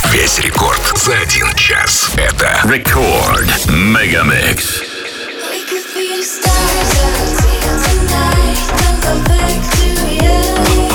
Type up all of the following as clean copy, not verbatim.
Весь рекорд за 1 час. Это Рекорд Мегамикс. We could be stars tonight. Don't go back to reality.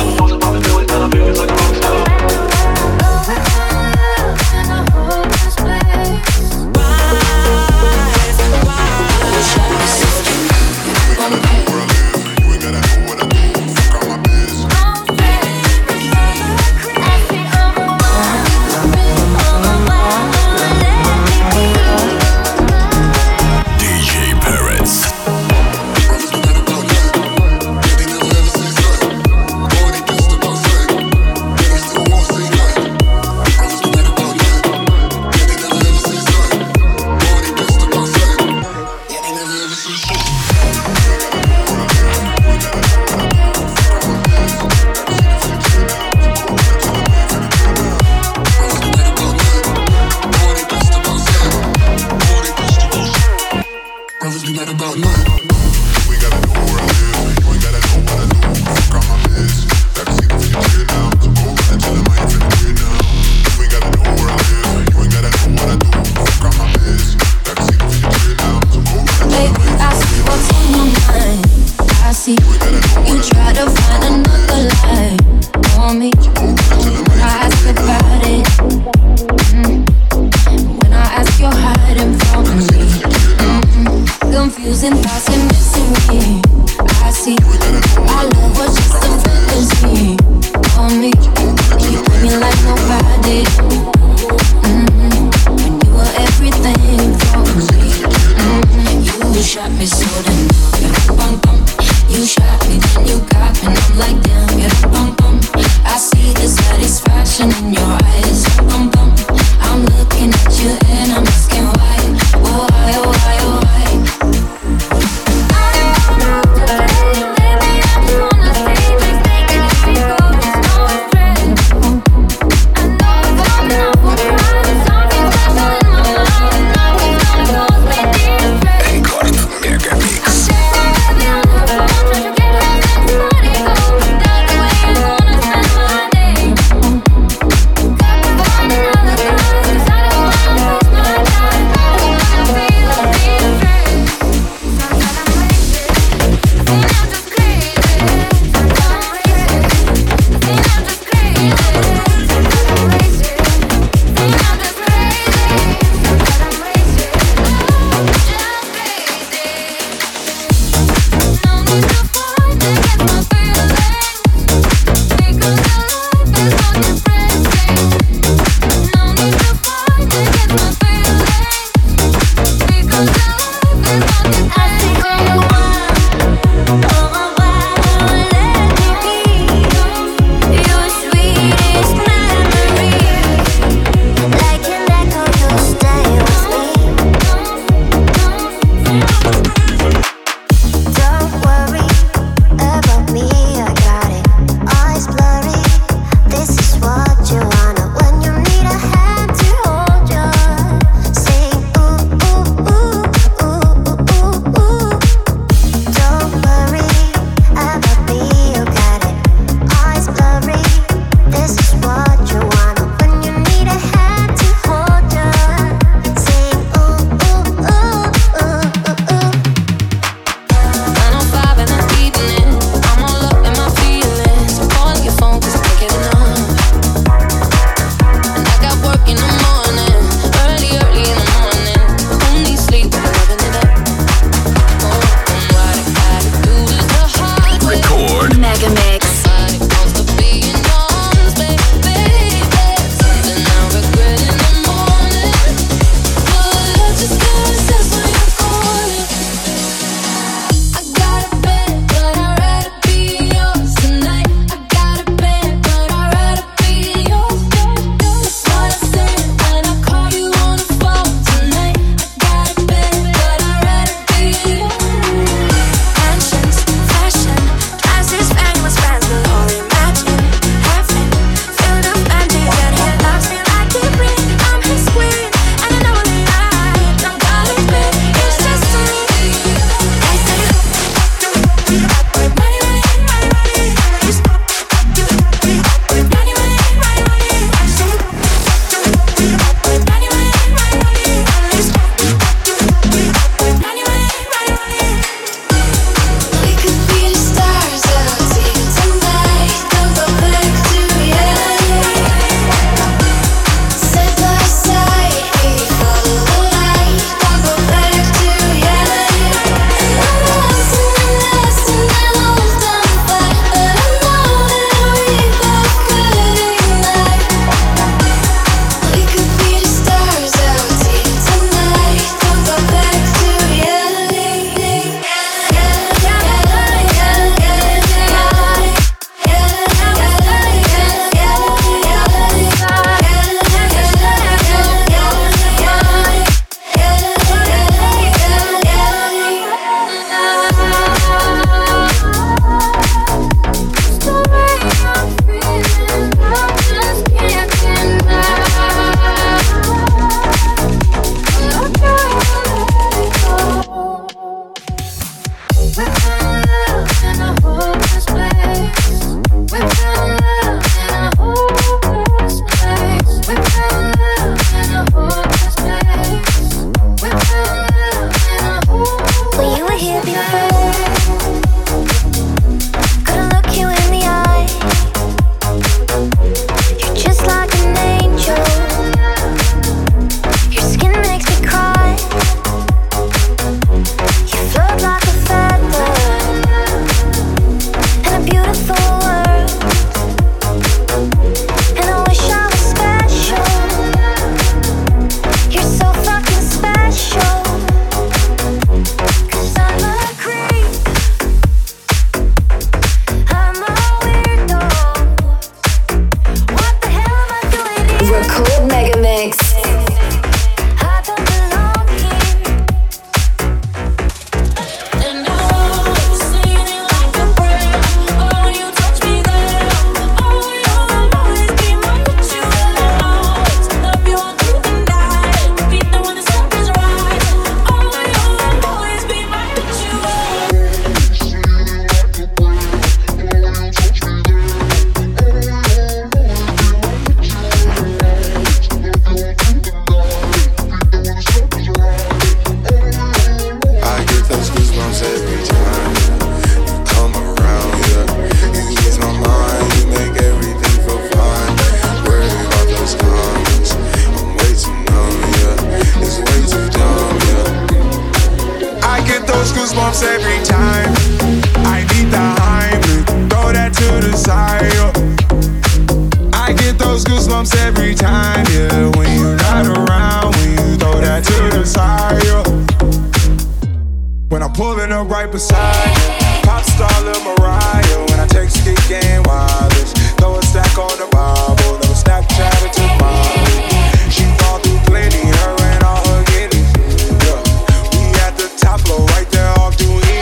Pulling up right beside you. Pop star Lil Mariah. When I text Kick Game Wireless. Throw a stack on the Bible. Never Snapchat it to Molly. She fall through plenty, her and all her guineas. Yeah. We at the top floor, right there off Duini.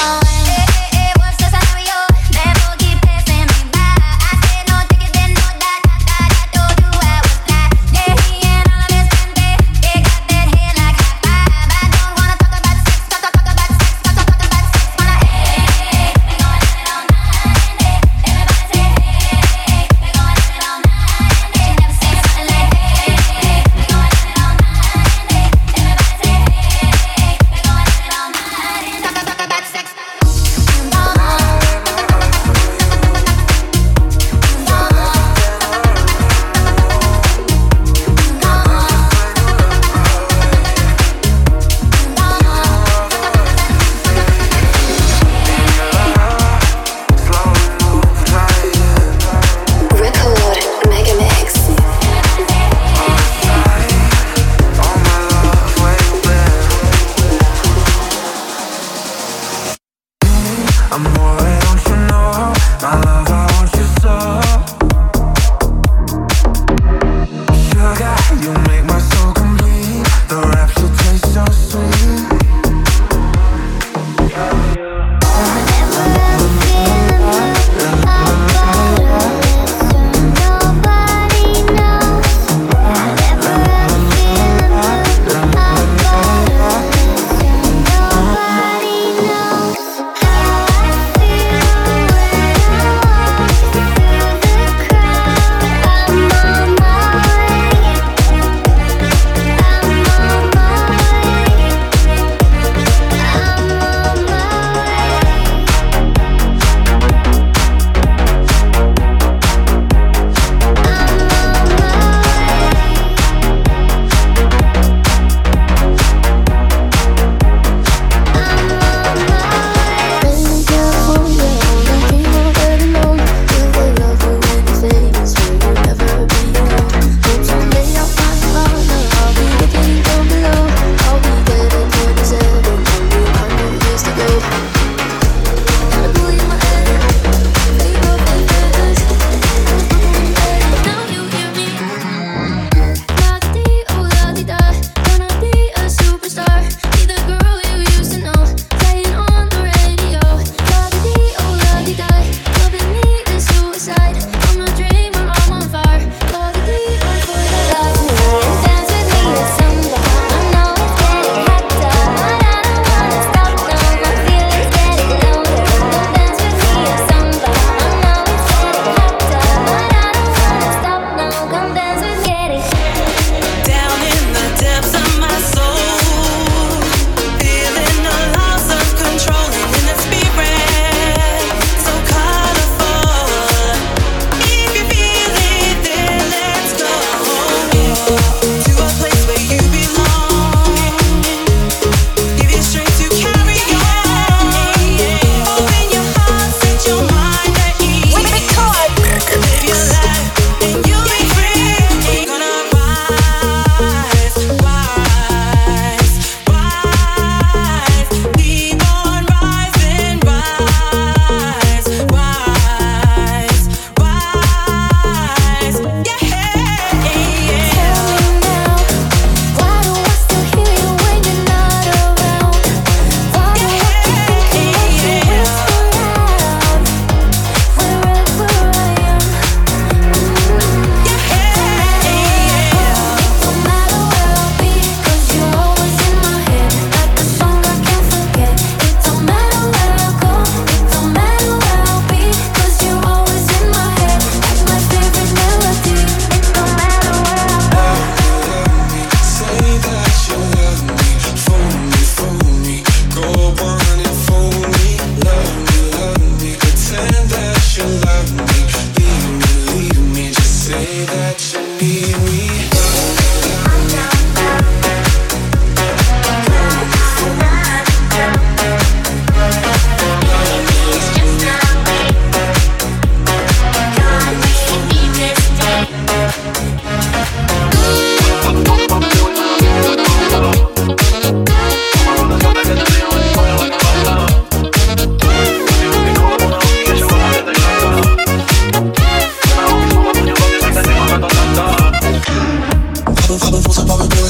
What's the scenario? Never keep passing me by. I said no ticket, then no die.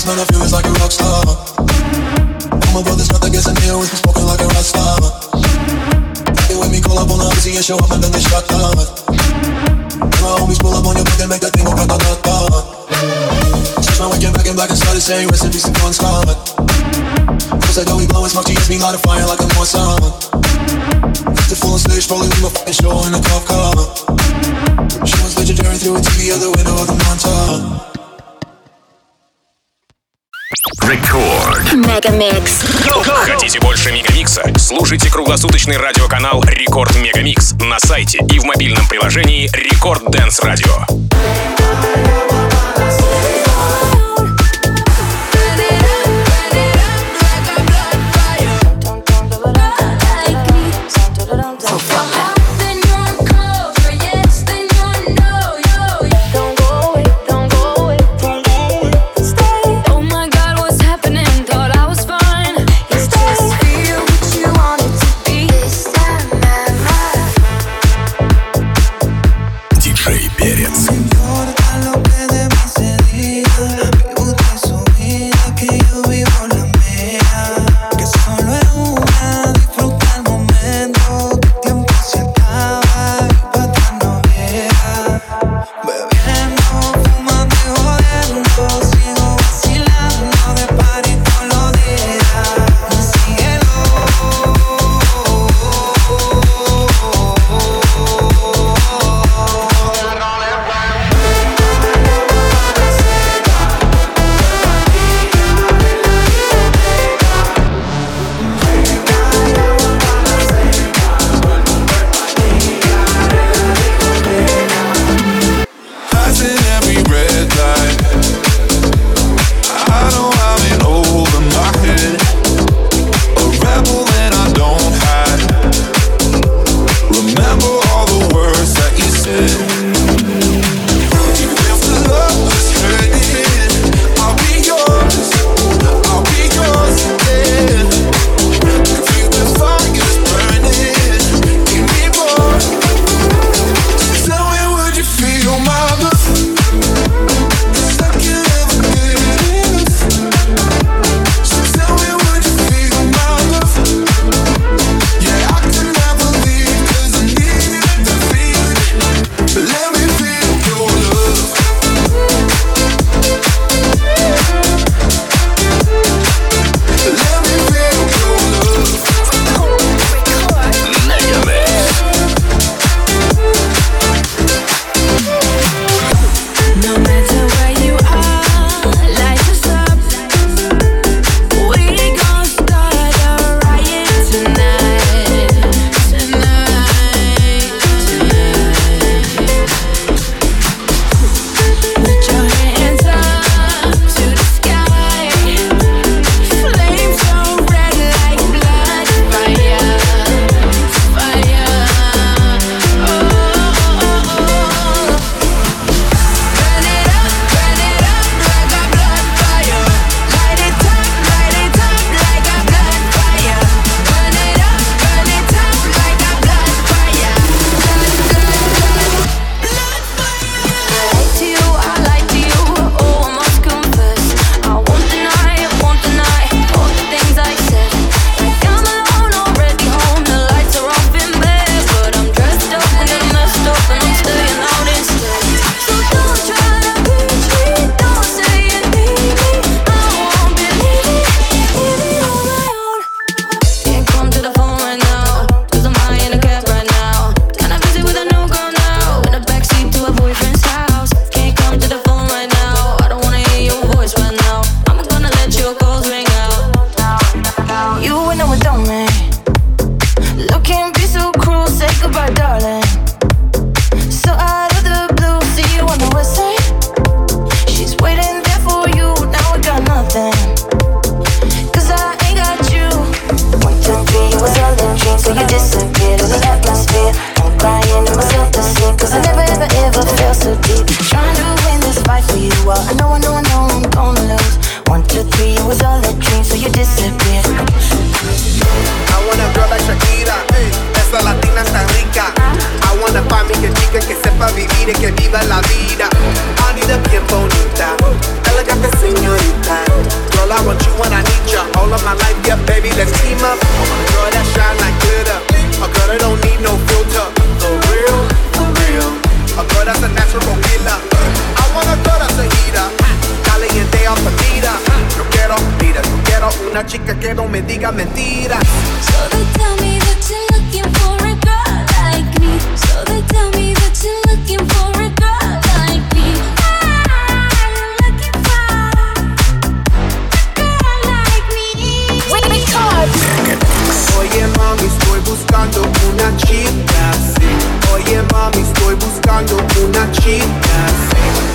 man, I feel it's like a rock star. All my brothers got the gas and they always be smoking like a rock star. They with me, call up on the Uzi and show up and then they shut down. My homies pull up on your block and make that thing go grata-ta-ta. Switch my weekend back in black and started saying rest in peace to Bon Scott. Cause I know we blowing smoke, she hits me light a fire like I'm on summer. The full on stage, probably leave my fucking show in a cop car. She was legendary through a TV out the window of the montage. Рекорд Мегамикс. Хотите больше Мегамикса? Слушайте круглосуточный радиоканал Рекорд Мегамикс на сайте и в мобильном приложении Рекорд Дэнс Радио. Диджей Перец. You're the una chica que no me diga mentiras. So they tell me that you're looking for a girl like me. So they tell me that you're looking for a girl like me. I'm looking for a girl like me. Oye mami, estoy buscando una chica así. Oye mami, estoy buscando una chica así.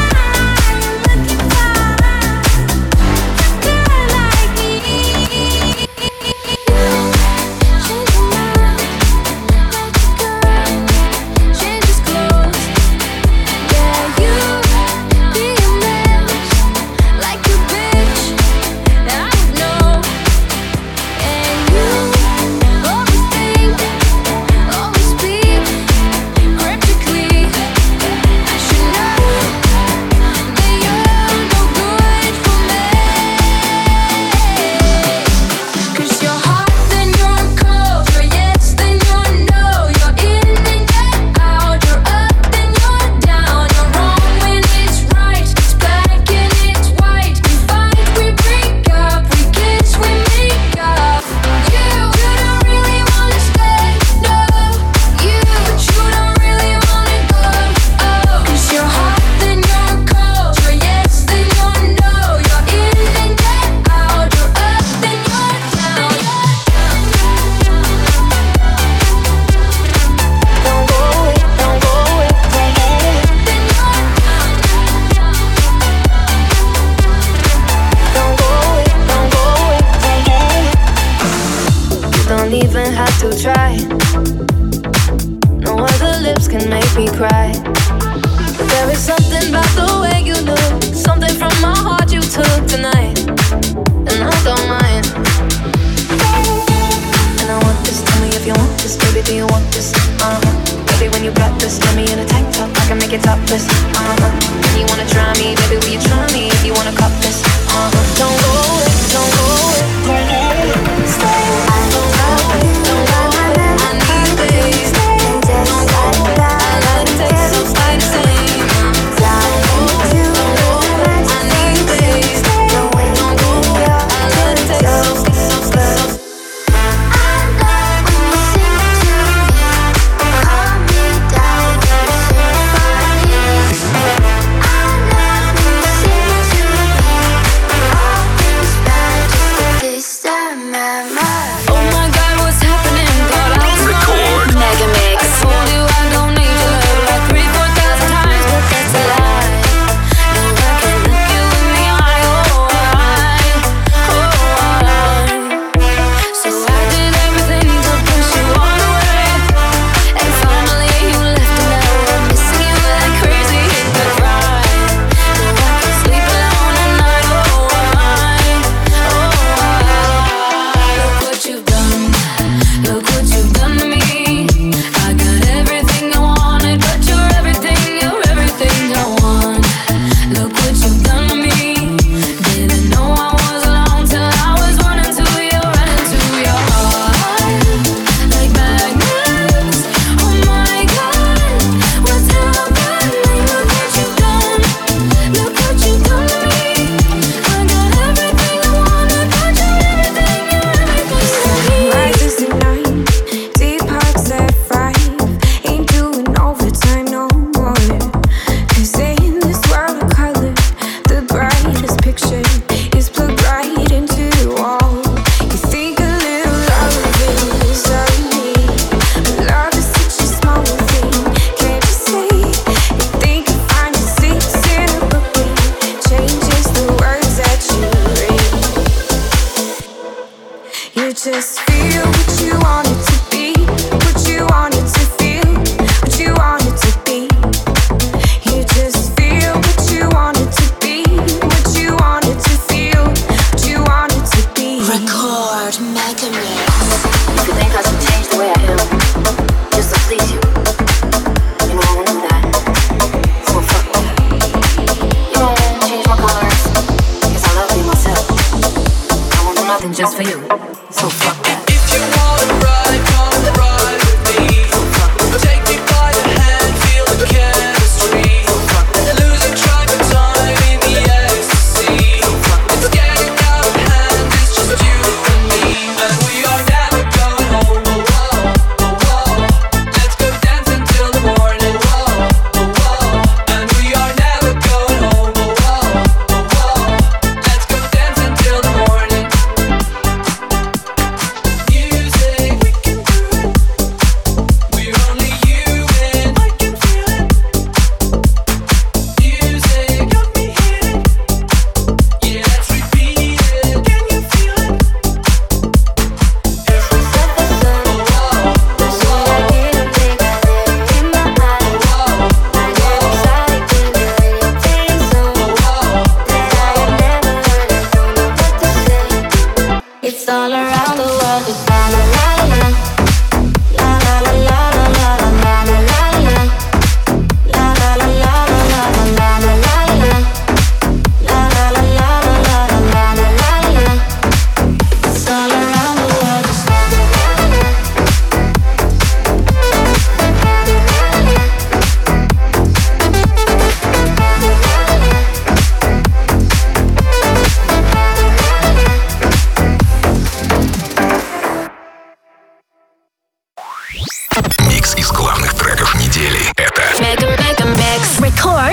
Just for you, so fuck that. If you wanna ride, come ride with me. Take me by the hand, feel the chemistry. Losing track of time in the ecstasy. It's getting out of hand, it's just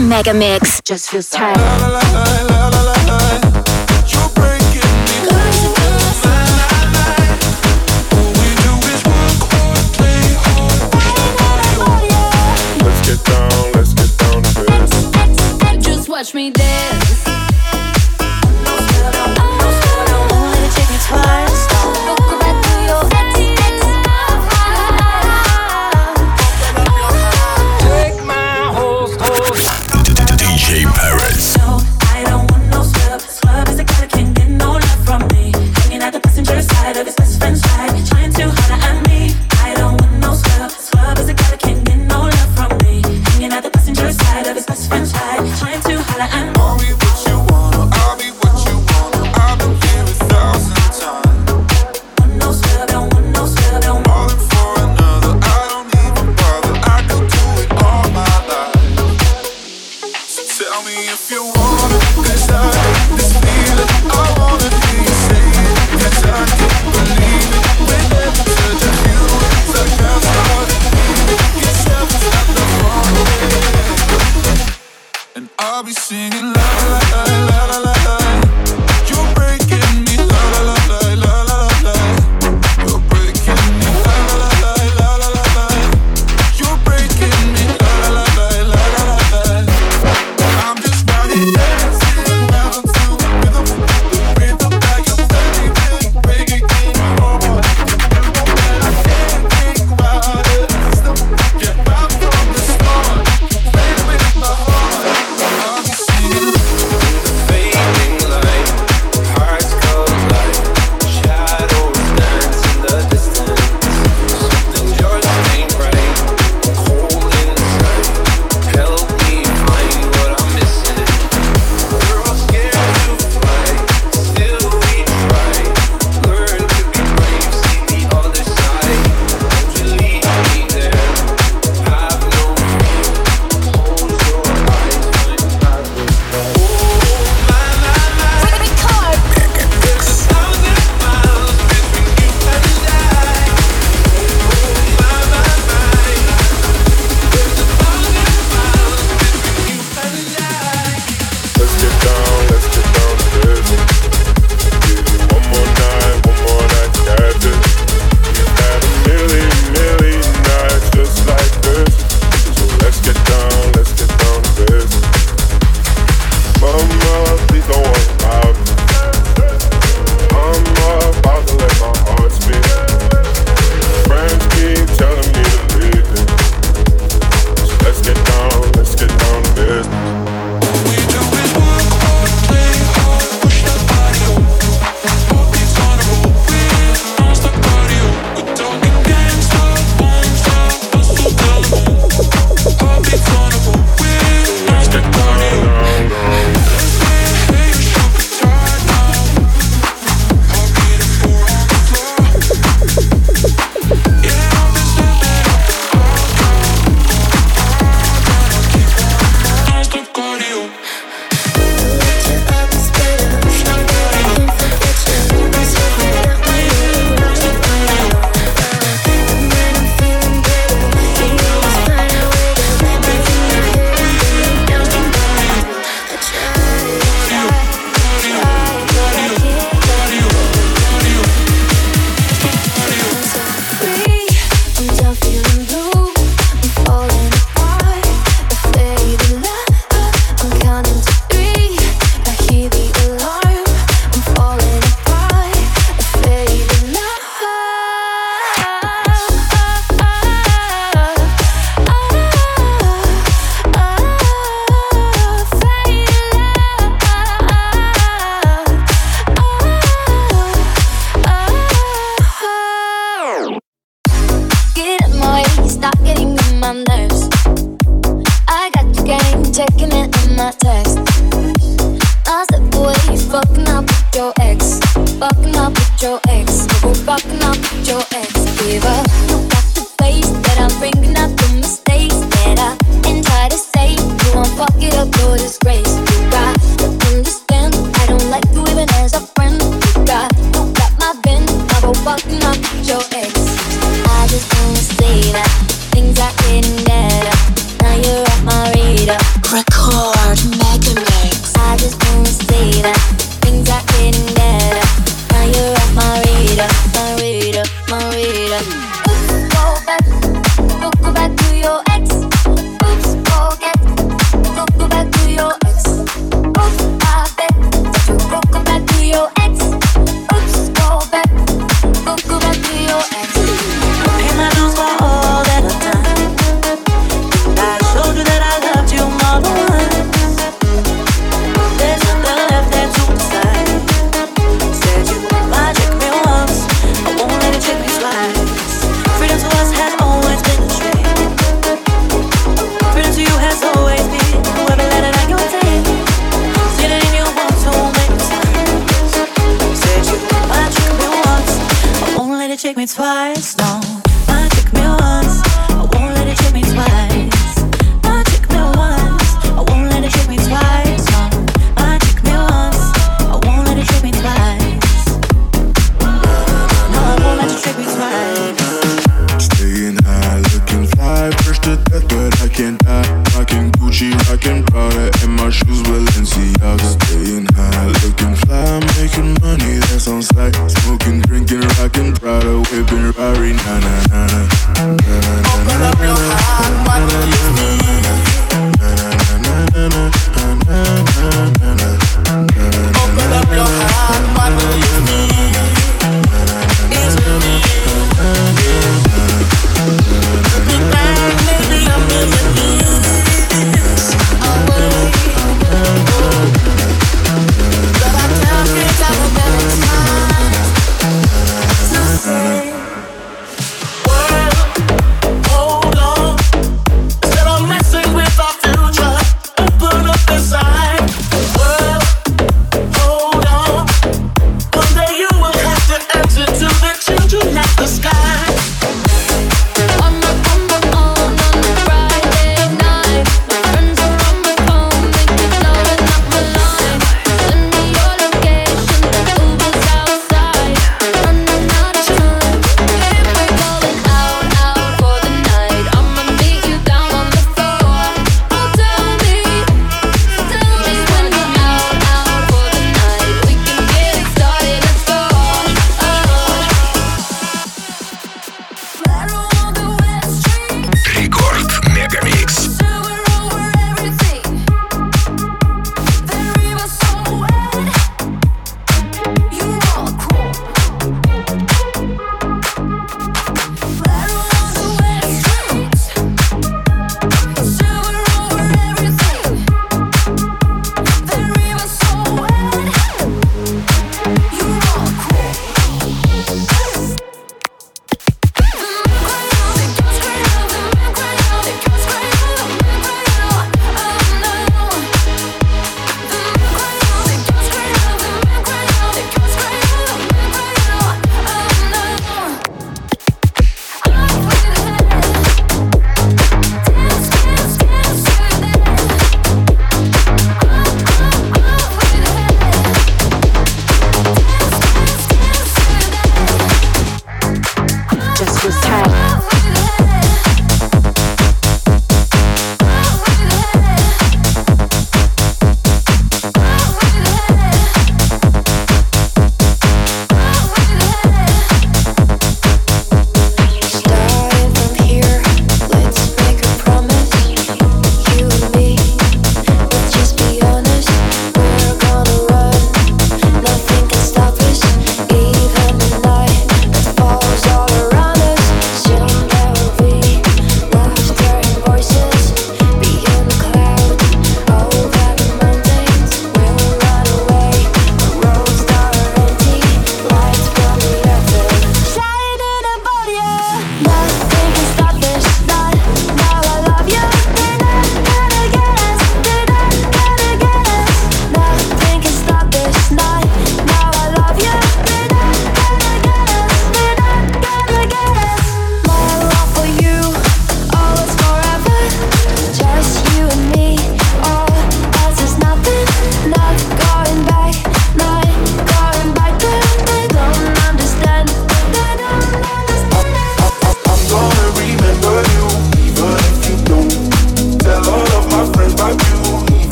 Mega Mix. Just feels tight. Watch me dance. DJ Paris. No, I don't want no scrub. Scrub is a guy that can't get no love from me. Hanging at the passenger side of his best friend's ride, trying to holler at me. I don't want no scrub. Scrub is a guy that can't get no love from me. Hanging at the passenger side of his best friend's ride, trying to holler at me. I'll be what you wanna, I'll be what you wanna. I've been here 1,000 times. Want no scrub, don't want no scrub, don't want. Falling for another, I don't even bother. I could do it all my life. So tell me if you want it, 'cause I got this feeling. I wanna hear you say it, 'cause I can't believe it. Whenever such a feeling, so I can't start it. Yourself is not the wrong way. And I'll be singing la la la la la la la. You're breaking me la la la la la la la. You're breaking me la la la la la la la. You're breaking me la la la la la la la. I'm just running dancing round to the rhythm like a steady breaking in your heart. And I can't think about it. Get back from the start. Play with my heart. I'll be singing. Fading light, hearts collide, shadows dance in the distance. Something just ain't right, cold inside. Help me find what I'm missing. We're all scared to fly, still we try. Learn to be brave, see the other side. Won't you lead me there? Have no fear. Close your eyes when I look. Let's get down to business. Give you one more night, got this. We've had a million nights just like this. So let's get down to business. Mama, please don't worry about me. I'm about to let my heart speak. Friends keep telling me to leave it. So let's get down to business. Record. say that things are getting better. Now you're off my radar, my radar, my radar. Oops, go back to your ex. Oops, go back to your ex. Oops, I bet that you go back to your ex. Oops, go back to your ex. Pay my dues for all that I've done. I showed you that I loved you more than once. There's nothing left there to decide. Said you might trick me once, I won't let it trick me twice. Freedom to us has always been a dream. Freedom to you has always been whoever let it on your day. See it in your heart, so many times. Said you might trick me once, I won't let it trick me twice. No, might trick me once, I won't let it trick me twice. Might trick me once, I won't let it trick me twice. No, might trick me once, I won't let it trick me twice. No, I won't let it trick me twice. Staying high, looking fly, fresh to death, but I can't die. Rockin' Gucci, rockin' Prada, and my shoes Balenciaga. Staying high, looking fly, making money, that's on sight. Smoking, drinking, rockin' Prada, whipping Rari, 999.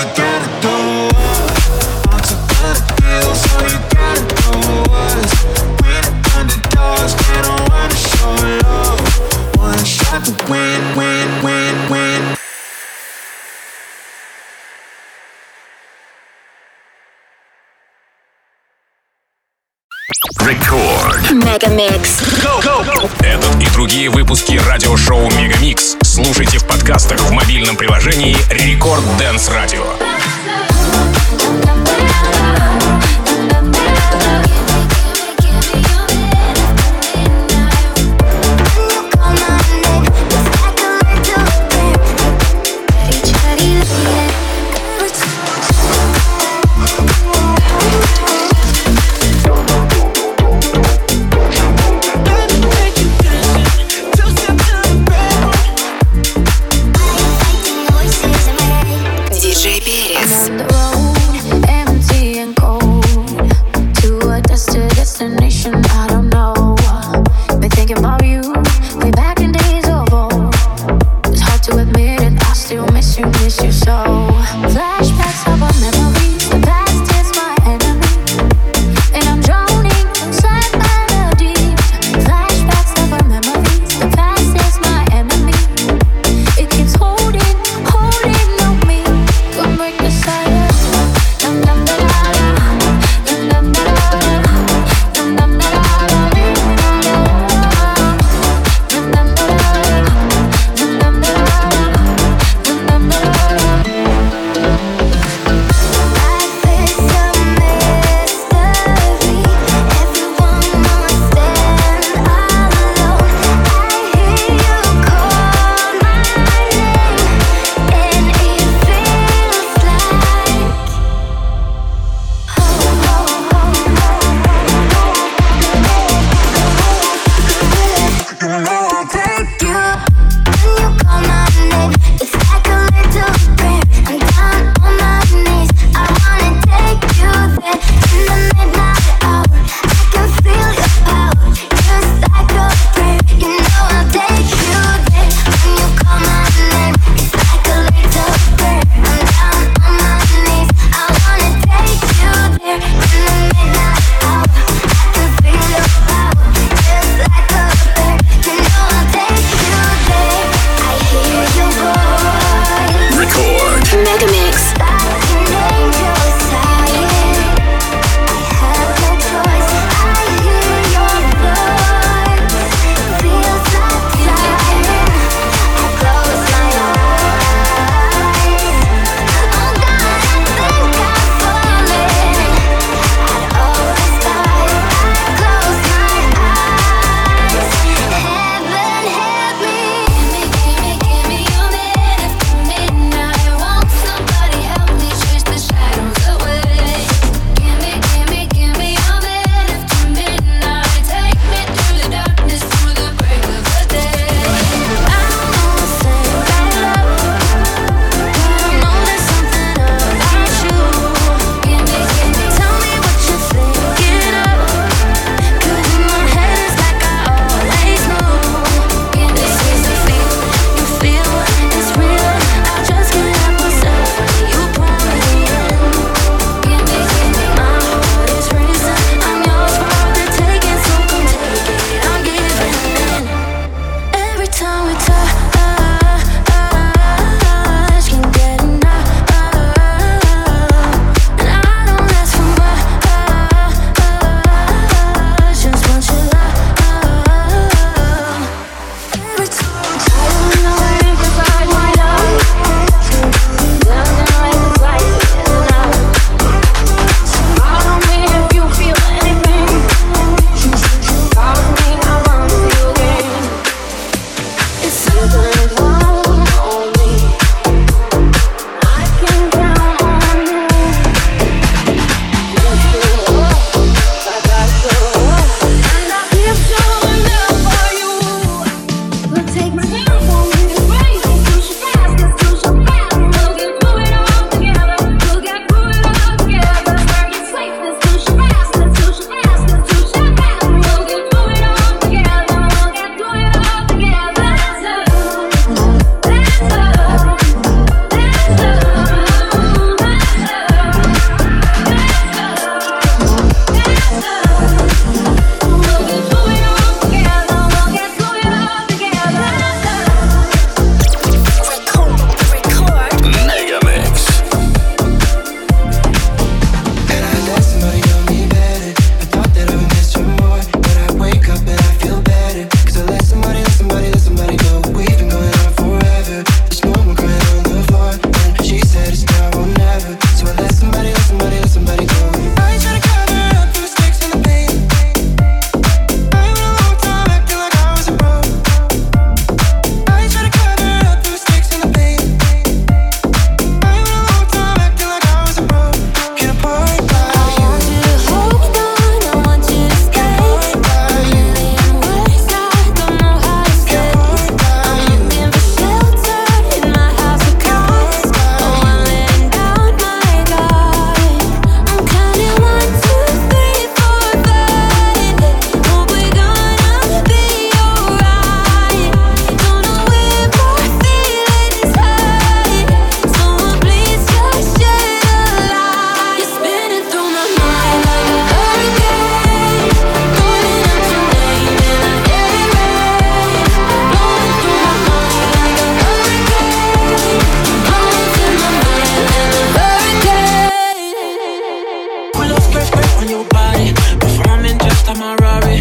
you gotta do it. I'm so good at this. All you gotta do is win it underdogs. They don't wanna show love. One shot to win, win, win, win. Record. Мегамикс. Этот и другие выпуски радиошоу Мегамикс слушайте в подкастах в мобильном приложении Record Dance Radio. DJ B.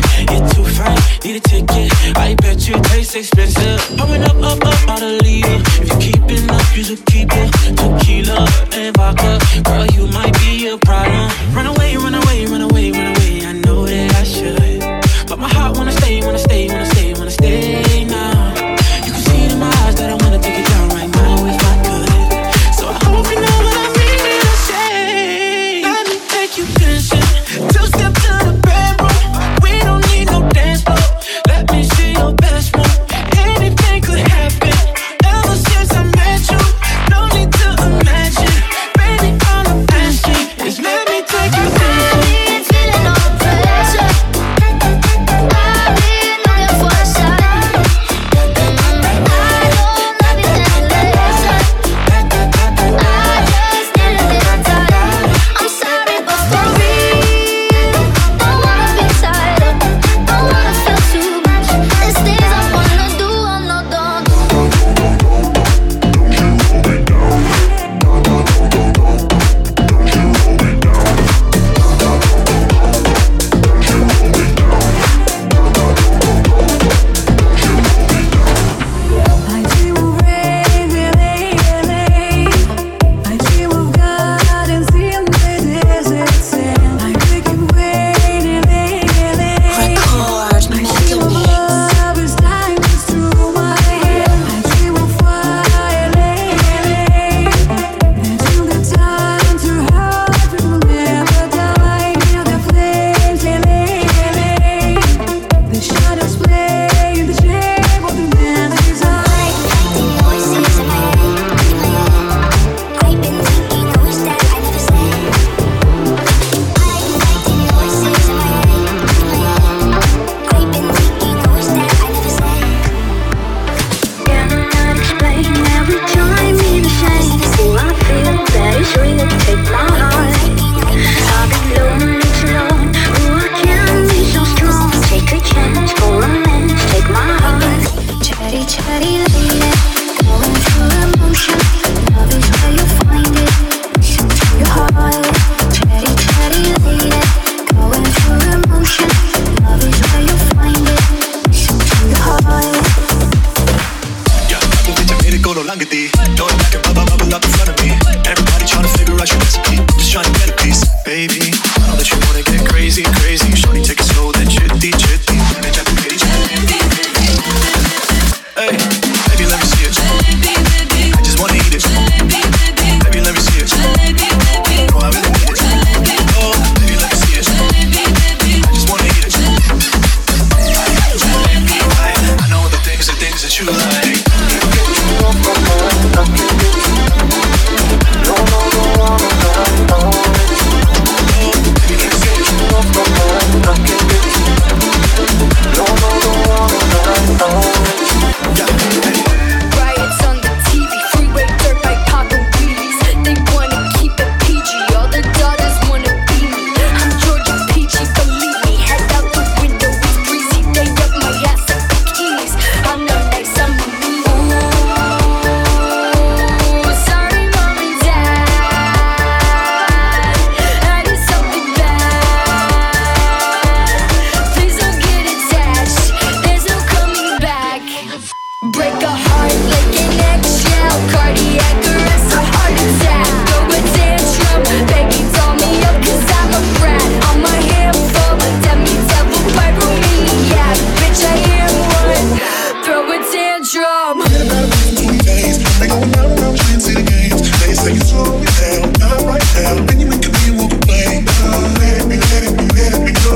You're too fine, need a ticket. I bet you taste expensive. Pouring up, out a leader. If you're keeping up, you should keep it. Tequila and vodka, girl, you might be a problem. Run away, run away, run away, run away. I know that I should, but my heart wanna stay, wanna stay, wanna stay, wanna stay now. You can see it in my eyes that I wanna take it down right now if I could. So I hope you know what I mean when I say, let me take you dancing. Two-step to the bedroom. We don't need no dance floor. Let me see your best move. Anything could happen. Ever since I met you, no need to imagine. Baby, all I'm asking is let me take you dancing. Feeling all the pressure. I've been on your for a side. I don't love you endless. I just need a little time. I'm sorry, but for real, don't wanna be tied up. Don't wanna feel too much. There's things I wanna do, I'm not done. I dream of rain, I dream of gardens in the desert sand. I make it rain, I dream of lovers diamonds through my hair. I dream of fire, until the time to hurt will never die. Feel the flames, the shadows play in the shape of the man's desire. Voices in my head. I've been thinking the words that I never said. Fighting voices in my head. I've been thinking the words that I never said. Cannot explain every time in the shame. Oh, I feel that it's real. Take my heart. I've been lonely too long. Oh, I can't be so strong. Take a chance for romance. Take my heart. Chatty, chatty lady, going through emotion. Love is where you find it. Listen to your heart. Chatty, chatty lady, going through emotion. Love is where you find it. Listen to your heart. Think that you made it go no longer, D. Going back and bubble up in front of me. Everybody trying to figure out your recipe. Just trying to get a piece, baby. I know that you wanna get crazy, crazy. Shorty, take it slow, then chitty, chitty. Hey, baby, let me see it. I just wanna eat it. Baby, let me see it. Oh, I really need it. Oh, baby, let me see it. I just wanna eat it. I know the things that you like. Riots on the TV, freeway dirt bike popping wheelies. They wanna keep it PG, all the daughters wanna be me. I'm Georgia Peachy, believe me. Head out the window, it's breezy. They up my ass like bikinis. I'm not nice, I'm a mean. Ooh, sorry, mom and dad. I did something bad. Please don't get attached. There's no coming back. Break a heart like an eggshell. Cardiac arrest, a heart attack. Throw a tantrum, baby, doll me up 'cause I'm a brat. I'm a handful, demi devil, pyromaniac. Bitch, I am one. Throw a tantrum. They going round and round playing city games. They say you slow it down, not right now. Then you make a me walk away. Let it be go.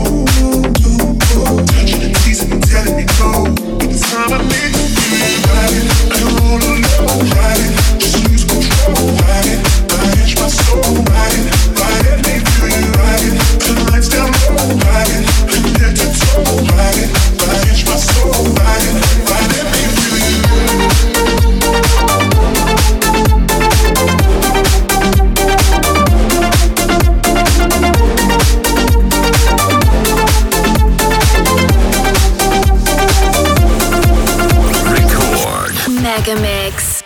Touching and teasing and telling me go. But this time I need you. Ride it, I don't wanna know. Ride it, just lose control. Ride it, my soul. Ride it, make feel you. Ride it, turn the lights down low. Ride it, head to toe. Ride it, my soul. Ride it, make feel you. Record. Mega Mix.